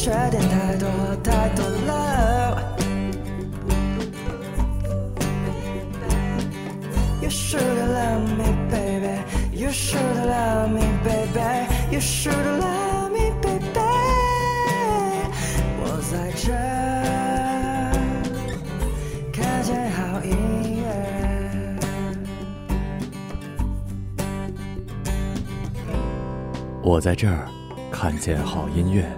缺点太多太多了。You should love me, baby. You should love me, baby. You should love me, baby. 我在这看见好音乐。 我在这儿看见好音乐。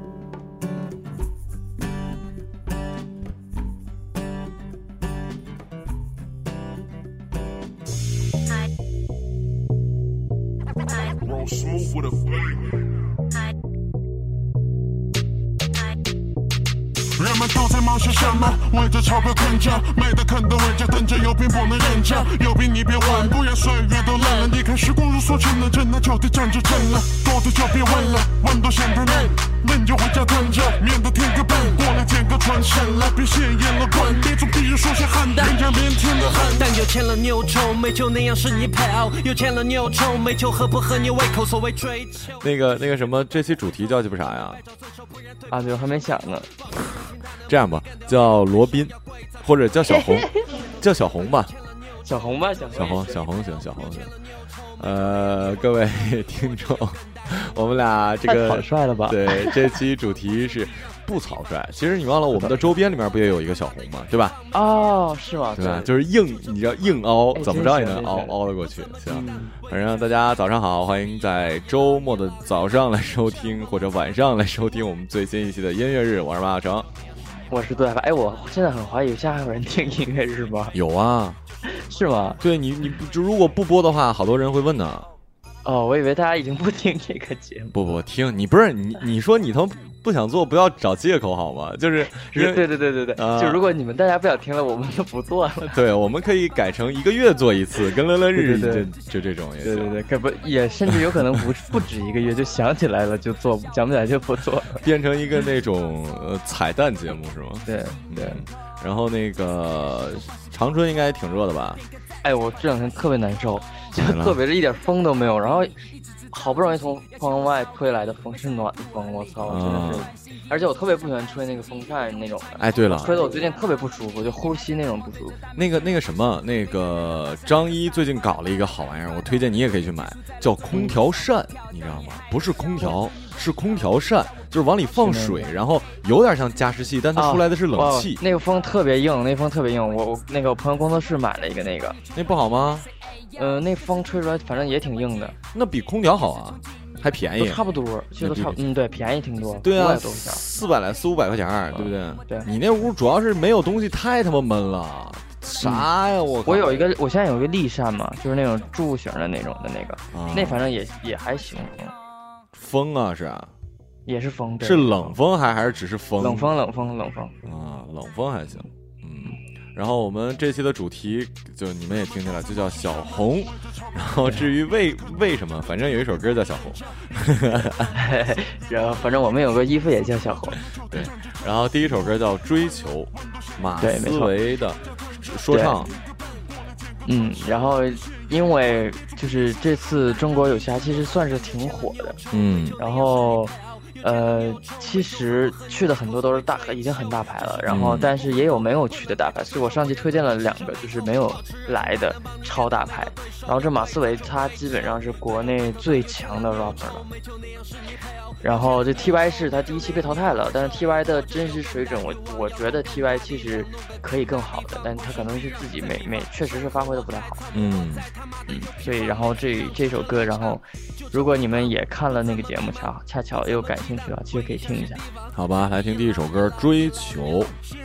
人们都在忙些什么？为着钞票困着，美的啃的围着，等着有病不能忍着，有病你别问，不然岁月都冷了。你看时光如梭沉了，真的就得站着真了，多的就别问了，问都显得嫩，嫩就回家蹲着，免得添个笨，过来捡个船省了，别现眼了滚，别总逼人说些狠的，人家腼腆的很。 但有钱了你又臭美就那样是你配偶，有钱了你又臭美就合不合你胃口，所谓追求。 那个什么，这期主题叫鸡巴啥呀？ 啊，对，我还没想呢。 这样吧，叫罗宾，或者叫小红，叫小红吧。 小红吧，小红行，小红行。各位听众，我们俩这个太草率了吧？ 对，这期主题是不草率。其实你忘了，我们的周边里面不也有一个小红吗？对吧？ 哦，是吗？ 对吧？就是硬，你知道硬凹，怎么着也能凹得过去。行，反正大家早上好，欢迎在周末的早上来收听，或者晚上来收听我们最新一期的音乐日。我是马小成。 我是杜海发。哎，我现在很怀疑，现在还有人听音乐日吗？ 有啊， 是吗？ 对你就如果不播的话，好多人会问呢。 哦，我以为大家已经不听这个节目。 不听，你不是你说你他妈不想做，不要找借口好吗？就是对，就如果你们大家不想听了，我们就不做了。 对，我们可以改成1个月做一次，跟乐乐日就这种也行。 对，可不也甚至有可能不止1个月，就想起来了就做，想不起来就不做了， 变成一个那种彩蛋节目是吗？ 对。 然后那个长春应该挺热的吧？ 哎，我这2天特别难受，就特别是一点风都没有，然后好不容易从窗外吹来的风是暖风，我操，真的是！而且我特别不喜欢吹那个风扇那种的。 哎，对了， 吹的我最近特别不舒服，就呼吸那种不舒服。 那个什么，那个张一最近搞了一个好玩意儿，我推荐你也可以去买，叫空调扇，你知道吗？不是空调，是空调扇，就是往里放水，然后有点像加湿器，但它出来的是冷气。 那个风特别硬，我那个我朋友工作室买了一个那个。 那不好吗？ 那风吹出来反正也挺硬的。 那比空调好啊，还便宜， 都差不多，其实都差不多。对，便宜挺多。 对啊，400-500块钱，对不对？ 对。 你那屋主要是没有东西，太他妈闷了。啥呀？我现在有一个立扇嘛，就是那种柱形的那种的那个，那反正也还行。 风啊，是啊。 也是风， 是冷风还是只是风？ 冷风啊， 冷风还行。然后我们这期的主题就你们也听见了，就叫小红。然后至于为什么，反正有一首歌叫小红。 然后反正我们有个衣服也叫小红。 对。然后第一首歌叫追求，马思唯的说唱。 然后因为就是这次中国有嘻哈其实算是挺火的。然后其实去的很多都是已经很大牌了，然后但是也有没有去的大牌，所以我上期推荐了2个就是没有来的超大牌。然后这马思唯他基本上是国内最强的 rapper 了，然后这 TY 是他第1期被淘汰了，但是 TY 的真实水准我觉得 TY 其实可以更好的，但他可能是自己确实是发挥的不太好。所以然后这首歌，然后如果你们也看了那个节目，恰巧也有感兴趣的话，其实可以听一下。 好吧，来听第一首歌《追求》。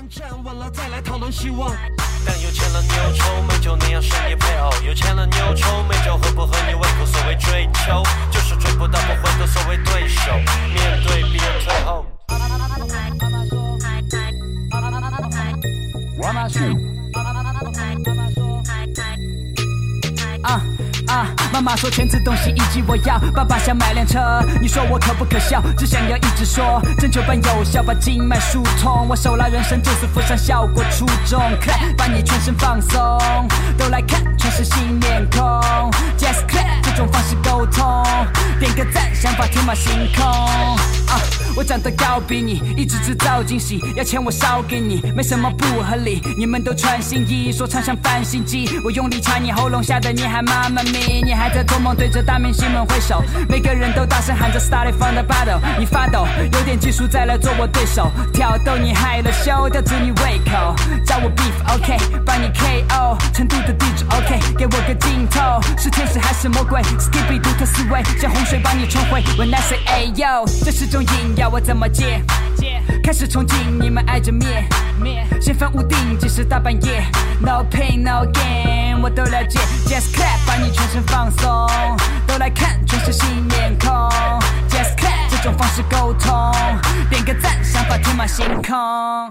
但有钱了你又臭美就那样是你配偶，有钱了你又臭美就合不合你胃口，所谓追求就是追不到不回头，所谓对手面对别人退后。 妈妈说全自动洗衣机我要，爸爸想买辆车，你说我可不可笑？只想要一直说，针灸般有效把经脉疏通，我手拉人生就是附上效果出众，看把你全身放松，都来看全是新面孔 ，Just clap 这种方式沟通，点个赞，想法天马行空。我长得高比你，一直制造惊喜，要钱我烧给你，没什么不合理。你们都穿新衣，说唱像翻新机，我用力插你喉咙，吓得你还妈妈咪，你还在做梦，对着大明星们挥手，每个人都大声喊着 Started from the bottom， 你发抖，有点技术再来做我对手，挑逗你害了羞，吊住你胃口，找我 beef OK， 把你 KO， 成都的地址 OK， 给我个镜头，是天使还是魔鬼 ？Skippy 独特思维，像洪水把你冲毁。When I say Ayo， 这是种瘾，要我怎么戒？开始憧憬，你们挨着灭，先分屋顶，即使大半夜。No pain no gain， 我都了解。Just clap， 把你全身放松，都来看，全是新面孔。Just clap， 这种方式沟通，点个赞，想法天马行空。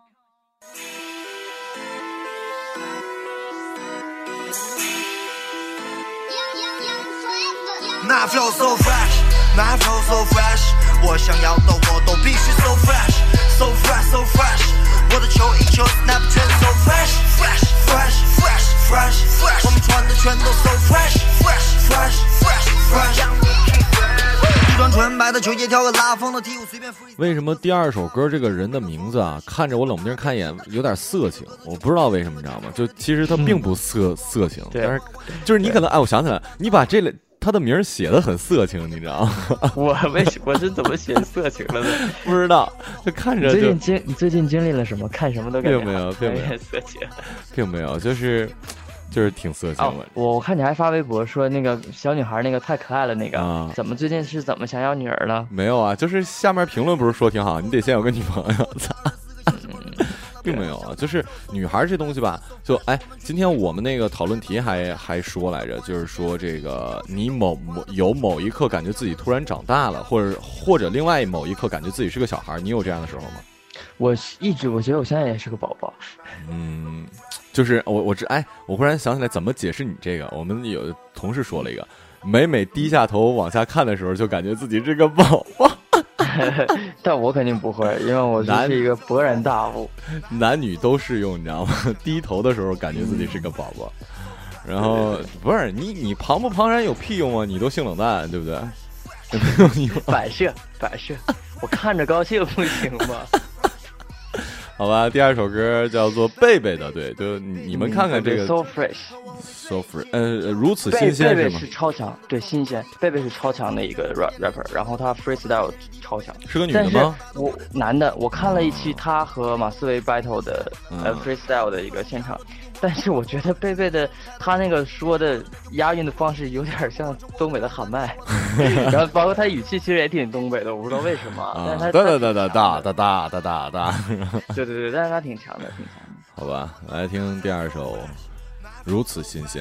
那 flow so fresh， 那 flow so fresh， 我想要的我都必须 so fresh， so fresh so fresh， 我的球一球 snap 全 so fresh fresh fresh fresh fresh fresh， 我们穿的全都 so fresh fresh fresh fresh fresh， 一双纯白的球鞋，跳个拉风的踢舞，随便 freeze。 为什么第二首歌这个人的名字啊，看着我冷不丁看一眼有点色情？我不知道为什么，你知道吗？就其实他并不色情，但是就是你可能我想起来，你把这类。他的名写的很色情，你知道吗？ 我是怎么写色情了呢？ 不知道，就看着就。 你最近经历了什么？看什么都感觉并没有色情， 并没有，就是挺色情的。 我看你还发微博说那个小女孩那个太可爱了，那个怎么最近是怎么想要女儿了？ 没有啊，就是下面评论不是说挺好，你得先有个女朋友，操。并没有啊，就是女孩这东西吧，就今天我们那个讨论题还说来着，就是说这个你有某一刻感觉自己突然长大了，或者另外某一刻感觉自己是个小孩，你有这样的时候吗？ 我觉得我现在也是个宝宝。 就是我忽然想起来怎么解释你这个，我们有同事说了一个，每低下头往下看的时候，就感觉自己是个宝宝。 但我肯定不会，因为我是一个勃然大悟。 男女都适用，你知道吗？低头的时候感觉自己是个宝宝，然后不是你庞不庞然有屁用啊？你都性冷淡，对不对？ 摆设，我看着高兴不行吗？ 好吧，第二首歌叫做贝贝的，对，就你们看看这个 So fresh， 如此新鲜是吗？ 贝贝是超强，对，新鲜。贝贝是超强的一个 rapper， 然后他 freestyle 超强。 是个女的吗？ 男的，我看了一期他和马思唯 battle 的freestyle 的一个现场，但是我觉得贝贝的他那个说的押韵的方式有点像东北的喊麦，然后包括他语气其实也挺东北的，我不知道为什么，但是他哒， 对，但是他挺强的。 好吧，来听第二首，如此新鲜。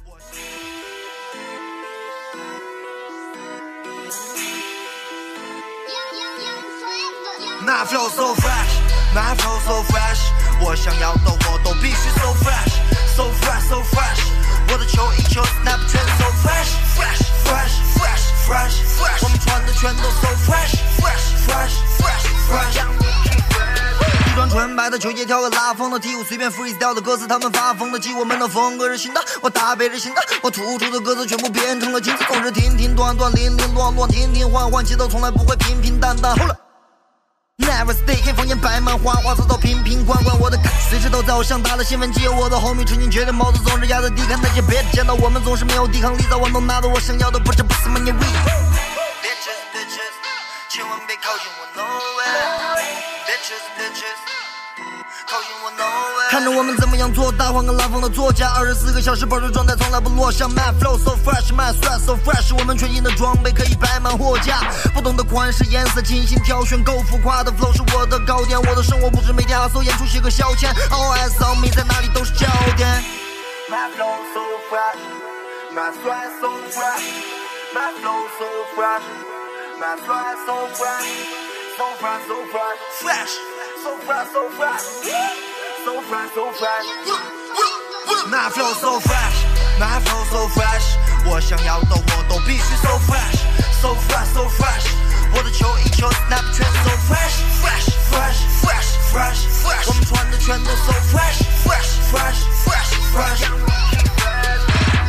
那 flow so fresh， 那 flow so fresh， 我想要的我都必须 so fresh so fresh so fresh， 我的球一球 snap 全 so fresh fresh fresh fresh fresh fresh， 我们穿的全都 so fresh fresh fresh fresh fresh， 一双纯白的球鞋，跳个拉风的踢舞，随便 freestyle 的歌词，他们发疯的记，我们的风格是新的，我搭配着新的，我突出的歌词全部变成了金子，总是停停断断，零零乱乱，停停换换，节奏从来不会平平淡淡。后来 Never stay， 黑房檐摆满花花草草，瓶瓶罐罐，我的感随时都在我上大的新闻机，我的后面纯净绝对帽子总是压在地看那些别见到我们总是没有抵抗力，早晚都拿到我想要的不是 money we bitches bitches， 千万别靠近我 no way bitches bitches， 靠近我 no way， 看着我们怎么样做大，换个拉风的作家，24个小时保持状态从来不落下， My flow so fresh my sweat so fresh， 我们全新的装备可以摆满货架，不同的款式颜色精心挑选，够浮夸的 flow 是我的高点，我的生活不是每天hustle演出写个消遣， All eyes on me， 在哪里都是焦点。 My flow so fresh my sweat so fresh my flow so fresh my sweat so fresh so fresh so fresh fresh so fresh so fresh so fresh so fresh， My flow so fresh my flow so fresh， 我想要的我都必须 so fresh so fresh so fresh， 我的球一球 snap 全 so fresh fresh fresh fresh fresh fresh， 我们穿的全都 so fresh fresh fresh fresh fresh，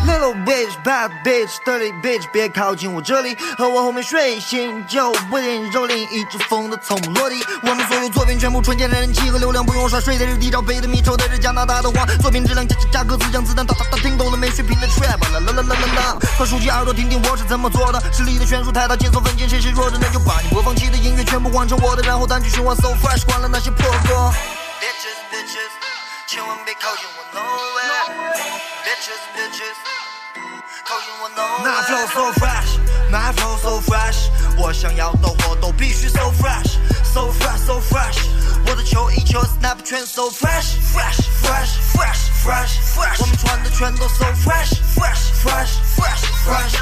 Little bitch, bad bitch, dirty bitch， 别靠近我这里，和我后面睡醒就不点蹂躏，一只风的从不落地。我们所有作品全部纯洁的人气和流量，不用刷税的是低罩杯的米，抽的是加拿大的花，作品质量加歌词，将子弹哒哒哒，听懂了没水平的 trap， 啦啦啦啦啦啦，快竖起耳朵听听我是怎么做的，实力的悬殊太大，节奏分解，谁是弱者，那就把你播放器的音乐全部换成我的，然后单曲循环 so fresh， 关了那些破歌。Bitches bitches， 千万别靠近我 no way。Bitches bitches， 靠近我 no way。那 flow so fresh， 那 flow so fresh， 我想要的我都必须 so fresh so fresh so fresh， 我的球一球 snap 全 so fresh fresh fresh fresh fresh fresh， 我们穿的全都 so fresh fresh fresh fresh fresh。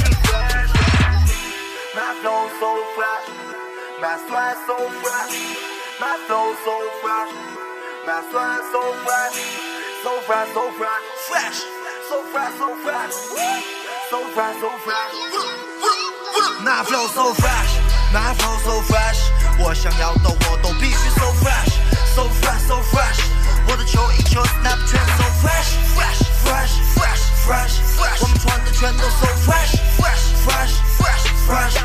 那 flow so fresh， 那 sweat so fresh， 那 flow so fresh， 那 sweat so fresh so fresh so fresh fresh so fresh so fresh so fresh so fresh， 那 flow so fresh， 那 flow so fresh， 我想要的我都必须 so fresh so fresh so fresh， 我的球一球 snap 全 so fresh fresh fresh fresh fresh fresh， 我们穿的全都 so fresh fresh fresh fresh fresh。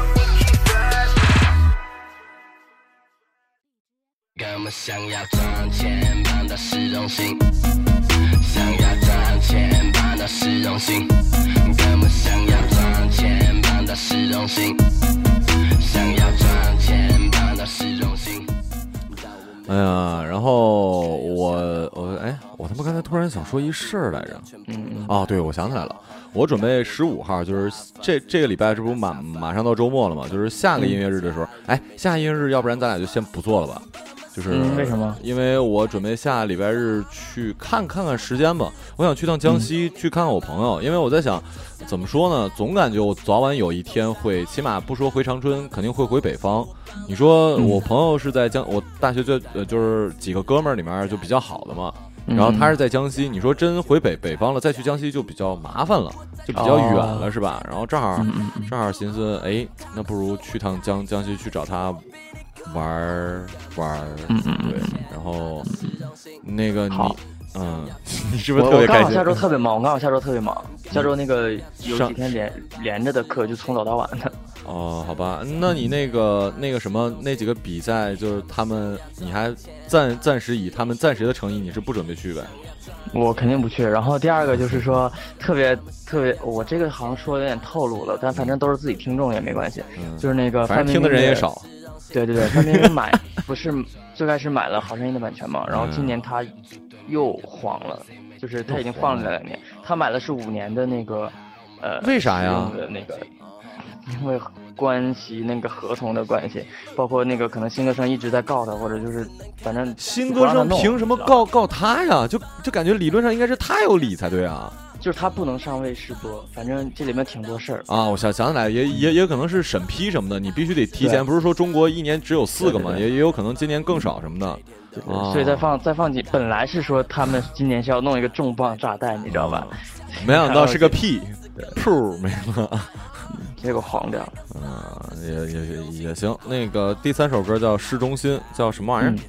我们想要赚钱办到市中心，想要赚钱办到市中心，我们想要赚钱办到市中心，想要赚钱办到市中心。 哎呀，然后我他妈刚才突然想说一事儿来着。哦，对，我想起来了，我准备15号，就是这个礼拜，这不马上到周末了嘛，就是下个音乐日的时候，下个音乐日，要不然咱俩就先不做了吧。就是为什么？因为我准备下礼拜日去看看时间吧。我想去趟江西，去看看我朋友，因为我在想，怎么说呢？总感觉我早晚有一天会，起码不说回长春，肯定会回北方。你说我朋友是在我大学就是几个哥们儿里面就比较好的嘛，然后他是在江西，你说真回北方了，再去江西就比较麻烦了，就比较远了，是吧？然后正好寻思，那不如去趟江西去找他。玩，对，然后那个你是不是特别开心？ 我刚好下周特别忙，下周那个有几天连着的课，就从早到晚的。 哦，好吧，那你那个什么那几个比赛，就是他们，你还暂时以他们暂时的成绩，你是不准备去呗？ 我肯定不去。然后第二个就是说，特别，我这个好像说有点透露了，但反正都是自己听众也没关系。就是那个反正听的人也少。 对，范冰冰不是最开始买了《好声音》的版权嘛，然后今年他又黄了，就是他已经放了2年，他买了是5年的那个为啥呀？ 那个因为关系那个合同的关系，包括那个可能新歌声一直在告他，或者就是反正新歌声凭什么告他呀？就感觉理论上应该是他有理才对啊。 就是他不能上卫视播，反正这里面挺多事儿啊。我想起来，也可能是审批什么的，你必须得提前。不是说中国1年只有4个嘛，也有可能今年更少什么的。 对，所以再放几，本来是说他们今年是要弄一个重磅炸弹，你知道吧？ 没想到是个屁，噗没了， 结果黄掉了。 也行。那个第3首歌叫《市中心》，叫什么玩意儿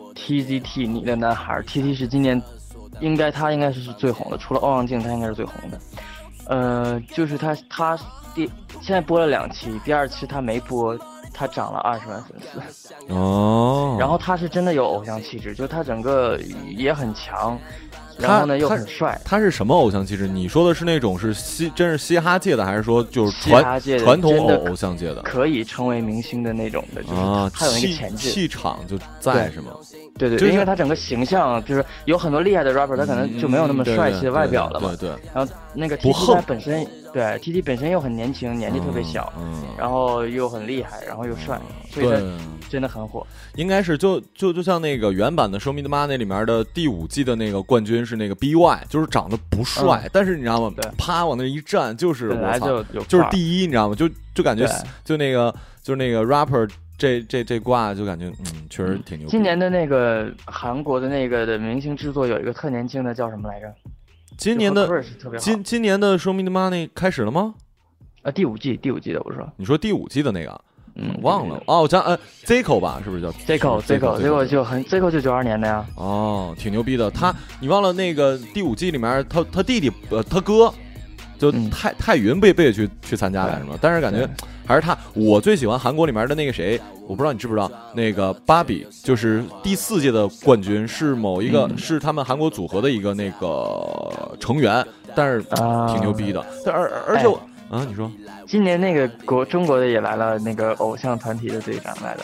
？TZT 你的男孩 ，TT 是今年。他应该是最红的，除了欧阳靖，他应该是最红的。就是他现在播了2期，第2期他没播，他涨了20万粉丝。 哦。 然后他是真的有偶像气质，就他整个也很强，然后呢又很帅。 他是什么偶像气质？你说的是那种是真是嘻哈界的，还是说就是传统偶像界的？ 可以成为明星的那种的，就是他有那个潜质， 气场就在是吗？ 对，因为他整个形象就是有很多厉害的 rapper， 他可能就没有那么帅气的外表了嘛。 对。 然后那个 TT 他本身TT 本身又很年轻，年纪特别小，然后又很厉害，然后又帅，所以他真的很火。 应该是就像那个原版的《Show Me the Money》里面的第5季的那个冠军是那个 BY， 就是长得不帅，但是你知道吗？啪往那一站就是本来就是第一，你知道吗？就感觉就是那个 rapper。这挂就感觉确实挺牛。 今年的那个韩国的那个的明星制作有一个特年轻的叫什么来着？ 今年的今年的《Show Me the Money》开始了吗？ 第5季的我说。 你说第5季的那个？忘了我讲Zico 吧，是不是叫 Zico 就92年的呀。 哦，挺牛逼的。你忘了那个第5季里面他弟弟他哥就泰云不也去参加来着吗？但是感觉还是他，我最喜欢韩国里面的那个谁，我不知道你知不知道，那个芭比就是第4届的冠军，是某一个是他们韩国组合的一个那个成员，但是挺牛逼的。而且你说今年那个中国的也来了，那个偶像团体的队长来了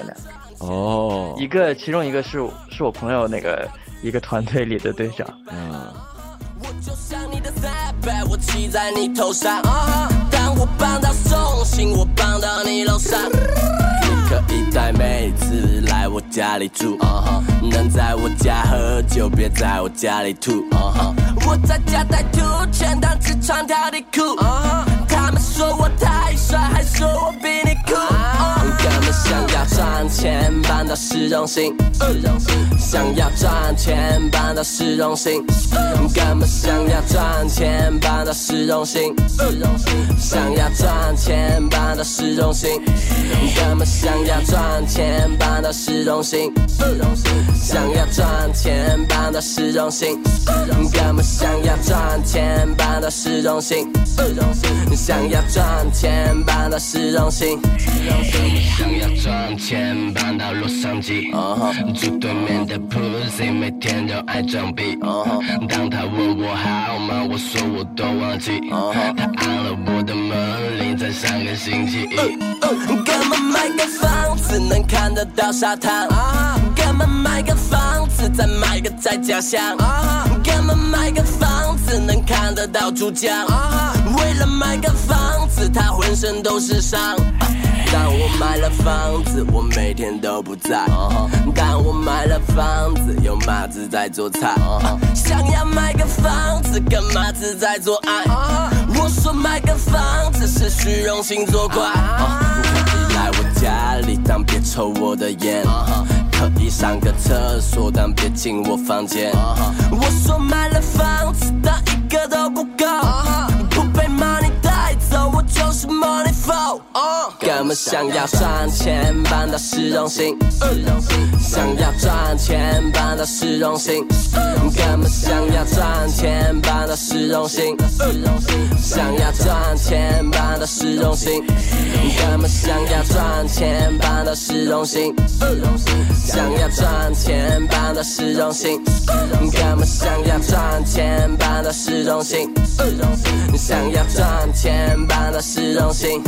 2个，其中一个是我朋友那个一个团队里的队长。 我就像你的300，我骑在你头上。当我帮到送信，我帮到你楼上。你可以带妹子来我家里住，能在我家喝酒，别在我家里吐。我在家带吐，全当只穿条底裤。他们说我太帅，还说我比你酷。根本想要赚钱，办到市中心。想要赚钱，办到市中心。根本想要赚钱，办到市中心。想要赚钱，办到市中心。根本想要赚钱，办到市中心。想要赚钱，办到市中心。根本想要赚钱，办到市中心。想要赚钱，搬到市中心。想要赚钱，搬到洛杉矶。住对面的 Pussy， 每天都爱装逼。当他问我好吗，我说我都忘记。他按了我的门铃，在上个星期一。干嘛买个房子能看得到沙滩？干嘛买个房子再买个在家乡？干嘛买个房子能看得到珠江？为了买个房子，他浑身都是伤。当我买了房子，我每天都不在。当我买了房子，有马子在做菜。想要买个房子，跟马子在做爱。我说买个房子是虚荣心作怪。可以来我家里，但别抽我的烟。可以上个厕所，但别进我房间。我说买了房子，但一个都不够。不被 money 带走，我就是 money flow。根本想要赚钱，搬到市中心。想要赚钱，搬到市中心。根本想要赚钱，搬到市中心。想要赚钱，搬到市中心。根本想要赚钱，搬到市中心。想要赚钱，搬到市中心。根本想要赚钱，搬到市中心。想要赚钱，搬到市中心。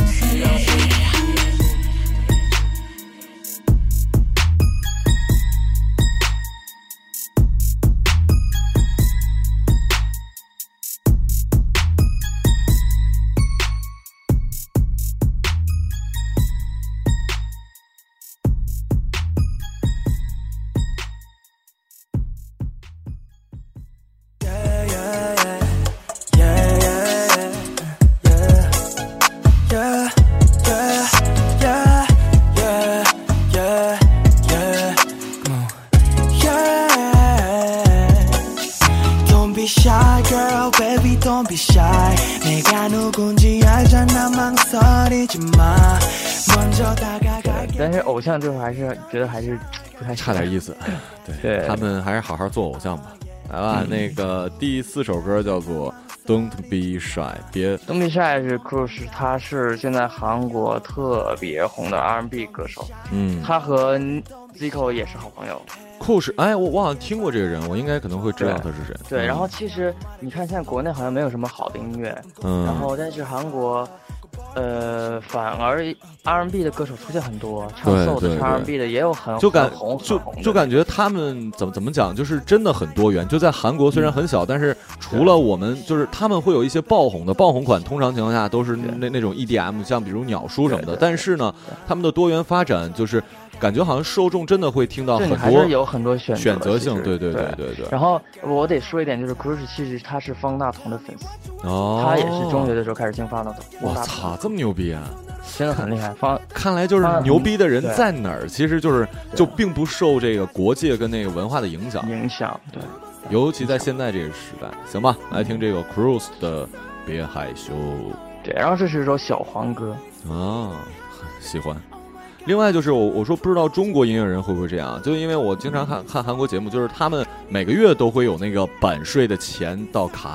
但是偶像就还是觉得还是不太差点意思。对，他们还是好好做偶像吧。来吧，那个第4首歌叫做 Don't Be Shy， Don't Be Shy 是 Crush， 他是现在韩国特别红的 R&B 歌手。他和 Zico 也是好朋友。 Crush， 我好像听过这个人，我应该可能会知道他是谁。 对，然后其实你看现在国内好像没有什么好的音乐，然后但是韩国反而 R&B 的歌手出现很多，唱 soul 的唱 R&B 的也有很红就感觉他们怎么讲，就是真的很多元。就在韩国虽然很小，但是除了我们，就是他们会有一些爆红款，通常情况下都是那种 EDM， 像比如鸟叔什么的。但是呢，他们的多元发展就是感觉好像受众真的会听到很多， 还是有很多选择性。对。 然后我得说一点，就是 Crush 其实他是方大同的粉丝。他也是中学的时候开始听方大同。 我操，这么牛逼啊！ 真的很厉害。 看来就是牛逼的人在哪儿，其实就并不受这个国界跟那个文化的影响。 对， 尤其在现在这个时代。行吧，来听这个 Cruise 的《别害羞》。 对，然后这是一首小黄歌喜欢。另外就是我说不知道中国音乐人会不会这样，就因为我经常看韩国节目，就是他们每个月都会有那个版税的钱到卡里，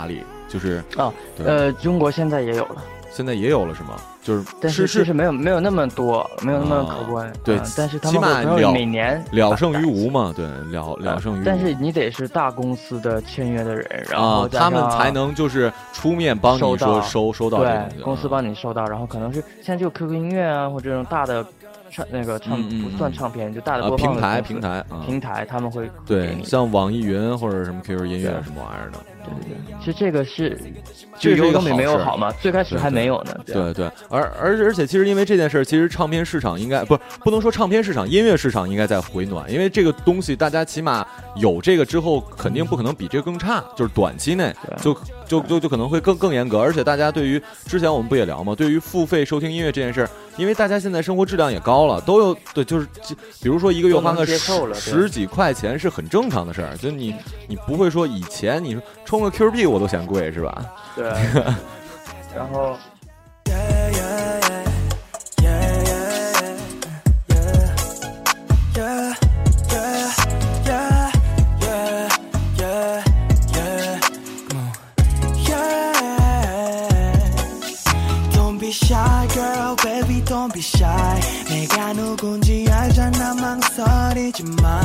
就是中国现在也有了。 现在也有了是吗？ 但是其实没有那么多，没有那么可观。 对， 但是他们会每年了胜于无嘛，对，了胜于无。 但是你得是大公司的签约的人，然后他们才能就是出面帮你说收到。 对，公司帮你收到，然后可能是现在就 QQ 音乐啊，或者这种大的不算唱片，就大的播放的平台，他们会对，像网易云或者什么 QQ 音乐什么玩意儿的。 其实这个是有总比没有好嘛，最开始还没有呢。 对，而且其实因为这件事，其实唱片市场应该不能说唱片市场，音乐市场应该在回暖，因为这个东西大家起码有这个之后，肯定不可能比这个更差，就是短期内就可能会更严格，而且大家对于之前我们不也聊嘛，对于付费收听音乐这件事，因为大家现在生活质量也高了，都有对，就是比如说一个月花个10几块钱是很正常的事儿，就你不会说以前你说充个 Q 币我都嫌贵是吧？ 对，然后。 Shy girl, baby, don't be shy. 내가 누군지 알잖아, 망설이지 마.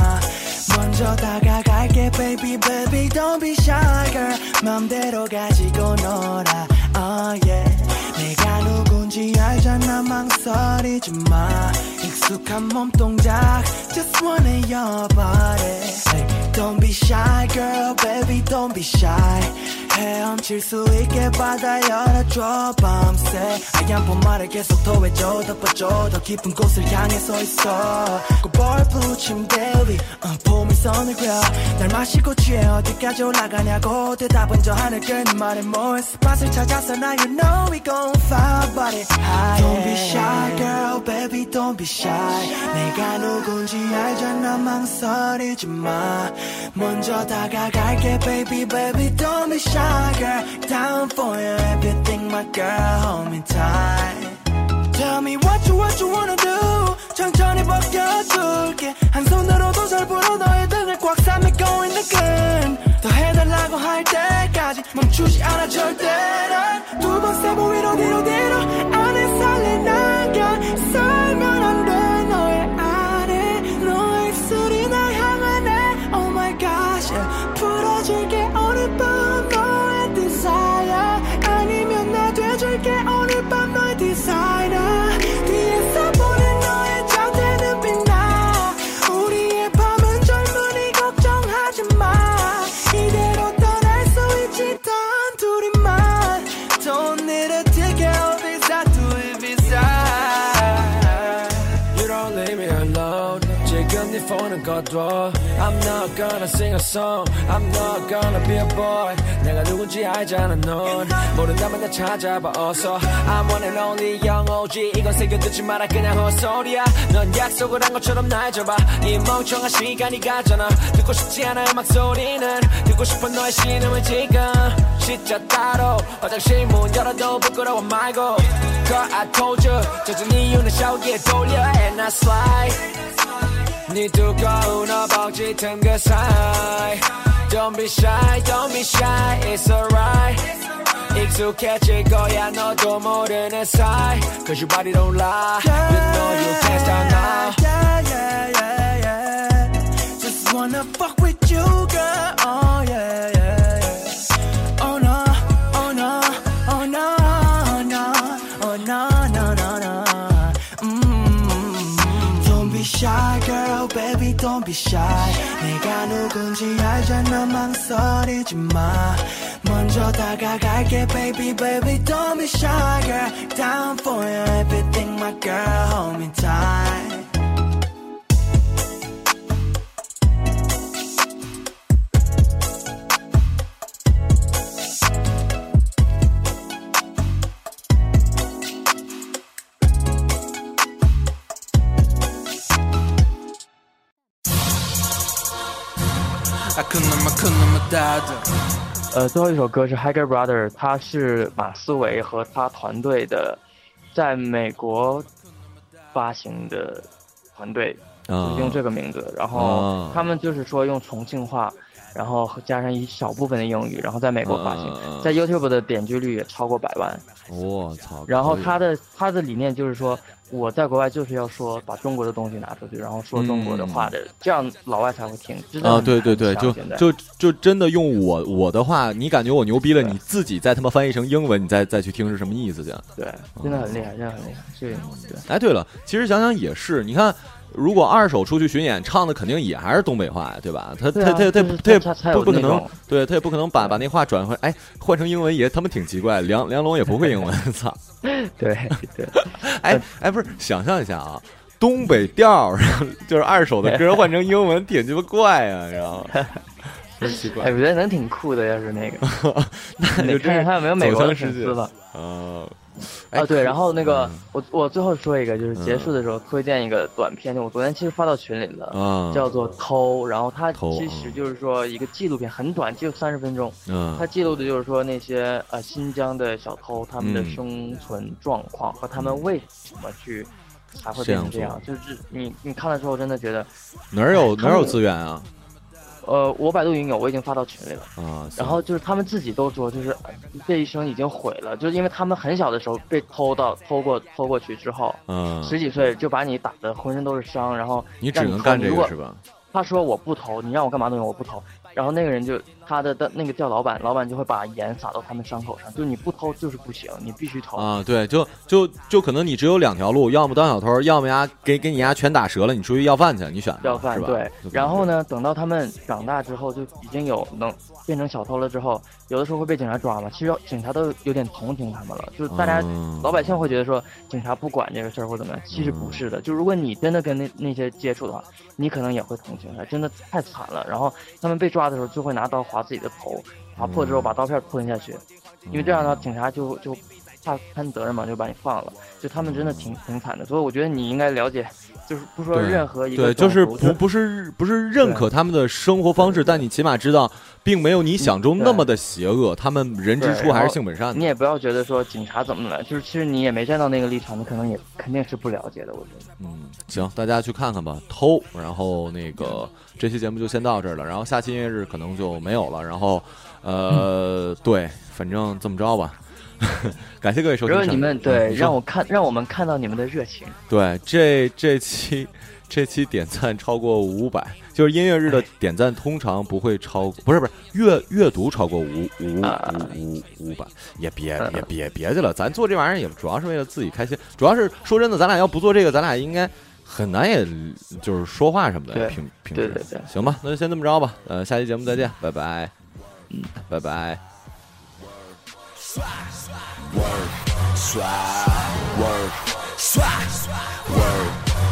먼저 다가갈게, baby, baby, don't be shy girl. 맘대로 가지고 놀아, oh yeah. 내가 누군지 알잖아, 망설이지 마. 익숙한 몸동작, just wanna your body. Hey, don't be shy, girl, baby, don't be shy. 헤엄칠 수 있게 바다 열어줘 밤새 하얀 봄말을 계속 더해줘 덮어줘 더 깊은 곳을 향해 서 있어 꽃볼 붙임대 위 봄이 선을 그려 날 마시고 취해 어디까지 올라가냐고 대답은 저 하늘 끓는 말에 more 스팟을 찾아서 now you know we gon' fire body high Don't be shy girl baby don't be shy 내가 누군지 알잖아 망설이지 마 먼저 다가갈게 baby baby don't be shy girl down for you everything my girl hold me tight Tell me what you wanna do 천천히 벗겨줄게 한 손으로도 잘 보여 너의 등을 꽉 싸매고 있는 끈 더 해달라고 할 때까지 멈추지 않아 절대 난 두 번 세 번 위로 뒤로 안에 살래 난간 살면 안 돼 너의 안에 너의 입술이 날 향하네 Oh my gosh yeah. 풀어줄게 오늘 밤 너의 desire 아니면 나 돼줄게 오늘 밤 너의 designer 뒤에서 보는 너의 자태는 빛나 우리의 밤은 젊은이 걱정하지 마 이대로 떠날 수 있지 단 둘이만 Don't need a ticket or visa to Ibiza You don't leave me alone 지금 네 폰은 꺼둬 I'm not gonna sing a song I'm not gonna be a boy 내가 누군지 알잖아 넌 모른다면 나 찾아봐 어서 I'm one and only young OG 이건 새겨두지 마라 그냥 헛소리야 넌 약속을 한 것처럼 날 잡아 이 멍청한 시간이 가잖아 듣고 싶지 않아 음악 소리는 듣고 싶은 너의 신음을 지금 진짜 따로 화장실 문 열어도 부끄러워 말고 Girl I told you 젖은 이유는 샤워기에 돌려 and I slide 네 두꺼운 허벅지 틈 그 사이 Don't be shy, don't be shy, it's alright 익숙해질 거야 너도 모르는 사이 Cause your body don't lie You know you can't stop now yeah. Just wanna fuck with you girl Oh yeah Oh no, oh no, oh no, oh no, oh no, no, no, no Don't be shy girl baby don't be shy 내가 누군지 알잖아 망설이지 마 먼저 다가갈게 baby baby don't be shy girl down for you everything my girl hold me tight 最后一首歌是 Higher Brother 他是马思唯和他团队的在美国发行的团队用这个名字然后他们就是说用重庆话然后加上一小部分的英语，然后在美国发行，在 YouTube 的点击率也超过100万。 我操！ 然后他的理念就是说，我在国外就是要说把中国的东西拿出去，然后说中国的话的，这样老外才会听。 对对对，就真的用我的话，你感觉我牛逼了，你自己再他妈翻译成英文，你再去听是什么意思？这样对，真的很厉害，真的很厉害。对。 哎，对了，其实想想也是，你看。如果二手出去巡演，唱的肯定也还是东北话呀，对吧？他也不可能，对他也不可能把那话转换，换成英文也他妈挺奇怪。梁龙也不会英文，操！ 对， 不是，想象一下啊，东北调就是二手的歌换成英文，挺鸡巴怪啊，然后。奇怪， 我觉得能挺酷的，要是那个，你看看他有没有美国的粉丝吧？对，然后那个我最后说一个，就是结束的时候推荐一个短片，我昨天其实发到群里了，叫做《偷》，然后它其实就是说一个纪录片，很短，就30分钟，它记录的就是说那些新疆的小偷他们的生存状况和他们为什么才会变成这样，就是你看的时候真的觉得哪有资源啊？ 我百度云有，我已经发到群里了然后就是他们自己都说，就是这一生已经毁了，就是因为他们很小的时候被偷过去之后，10几岁就把你打得浑身都是伤，然后你只能干这个是吧？ 他说我不偷，你让我干嘛都行，我不偷。然后那个人就他的那个叫老板就会把盐撒到他们伤口上，就是你不偷就是不行，你必须偷对，就可能你只有2条路，要么当小偷，要么给你全打折了，你出去要饭去，你选要饭是吧？对。然后呢，等到他们长大之后，就已经能变成小偷了之后，有的时候会被警察抓嘛。其实警察都有点同情他们了，就是大家老百姓会觉得说警察不管这个事儿或怎么样，其实不是的。就如果你真的跟那些接触的话，你可能也会同情他，真的太惨了。然后他们被抓的时候就会拿刀划自己的头，划破之后把刀片吞下去，因为这样的话警察就怕摊责任嘛，就把你放了。就他们真的挺惨的，所以我觉得你应该了解，就是不说任何一个对，就是不是认可他们的生活方式，但你起码知道并没有你想中那么的邪恶，他们人之初还是性本善的。 你也不要觉得说警察怎么了，就是其实你也没站到那个立场，你可能也肯定是不了解的，我觉得。 行，大家去看看吧，偷。然后那个这期节目就先到这儿了，然后下期音乐日可能就没有了，然后对，反正这么着吧。感谢各位收听。 如果你们让我们看到你们的热情。 对，这期点赞超过500，就是音乐日的点赞通常不会超，不是阅读超过500，也别去了，咱做这玩意儿也主要是为了自己开心，主要是说真的，咱俩要不做这个，咱俩应该很难，也就是说话什么的平时。 对， 行吧，那就先这么着吧，下期节目再见，拜拜，拜拜。Word, swag, word, swag, word,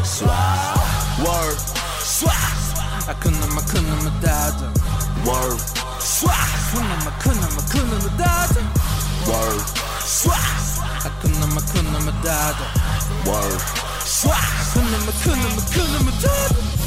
swag, word, swag. I couldn't dada. Word, swag. Couldn't dada. Word, swag. I couldn't dada. Word, swag. Couldn't dada.